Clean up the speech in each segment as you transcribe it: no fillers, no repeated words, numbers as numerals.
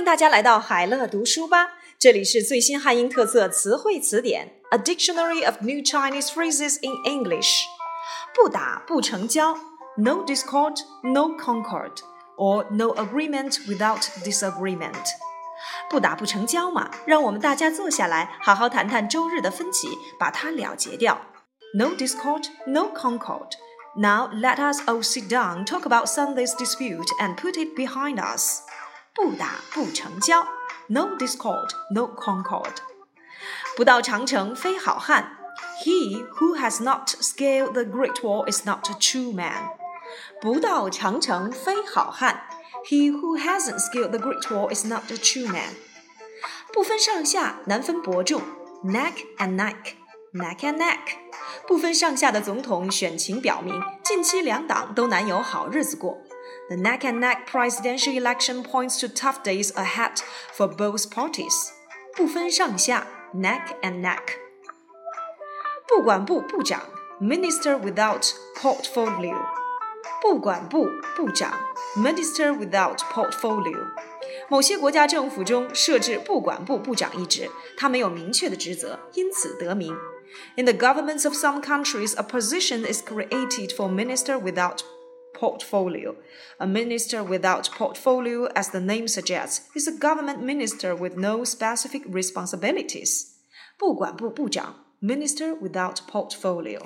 大家来到海乐读书吧，这里是最新汉英特色词汇词典 A Dictionary of New Chinese Phrases in English。 不打不成交 No discord, no concord or no agreement without disagreement。 不打不成交嘛，让我们大家坐下来好好谈谈周日的分歧，把它了结掉。 No discord, no concord. Now let us all sit down, talk about Sunday's dispute and put it behind us。 不打不成交 No discord, no concord。 不到长城非好汉 He who has not scaled the Great Wall is not a true man。 不到长城非好汉 He who hasn't scaled the Great Wall is not a true man。 不分上下难分伯仲 Neck and neck, neck and neck。 不分上下的总统选情表明，近期两党都难有好日子过。The neck and neck presidential election points to tough days ahead for both parties。 不分上下 neck and neck。 不管部部长 Minister without portfolio。 不管部部长 Minister without portfolio。 某些国家政府中设置不管部部长一职，他没有明确的职责，因此得名。In the governments of some countries, a position is created for minister without portfolio. A minister without portfolio, as the name suggests, is a government minister with no specific responsibilities. 不管部部长 Minister without portfolio。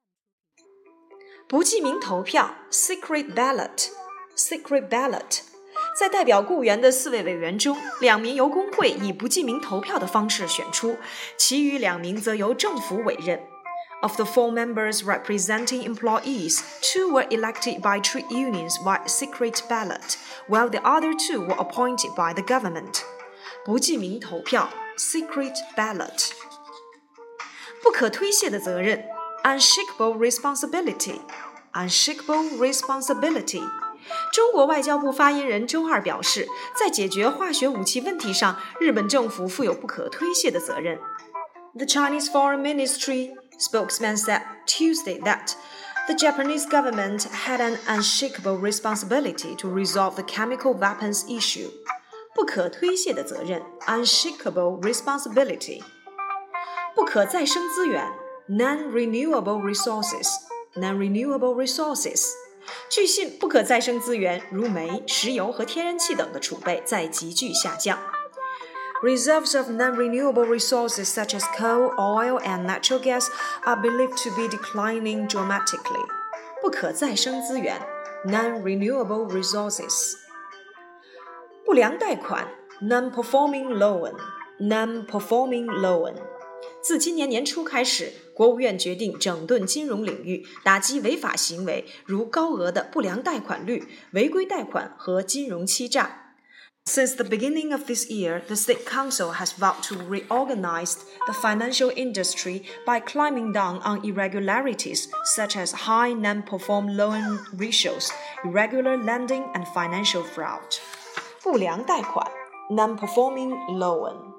不记名投票 Secret ballot. Secret ballot。 在代表雇员的4位委员中，2名由工会以不记名投票的方式选出，其余2名则由政府委任。Of the 4 members representing employees, 2 were elected by trade unions via secret ballot, while the other 2 were appointed by the government. 不记名投票 Secret ballot。 不可推卸的责任 Unshakable responsibility. Unshakable responsibility。 中国外交部发言人周二表示，在解决化学武器问题上，日本政府负有不可推卸的责任。The Chinese Foreign Ministry spokesman said Tuesday that the Japanese government had an unshakable responsibility to resolve the chemical weapons issue. 不可推卸的责任 Unshakable responsibility。 不可再生资源 Non-renewable resources. Non-renewable resources。 据信，不可再生资源如煤、石油和天然气等的储备在急剧下降。Reserves of non-renewable resources such as coal, oil, and natural gas are believed to be declining dramatically. 不可再生资源 Non-renewable resources。 不良贷款 Non-performing loan. Non-performing loan。 自今年年初开始，国务院决定整顿金融领域，打击违法行为，如高额的不良贷款率、违规贷款和金融欺诈。Since the beginning of this year, the State Council has vowed to reorganize the financial industry by climbing down on irregularities such as high non-perform loan ratios, irregular lending, and financial fraud. 不良贷款 Non-performing loan。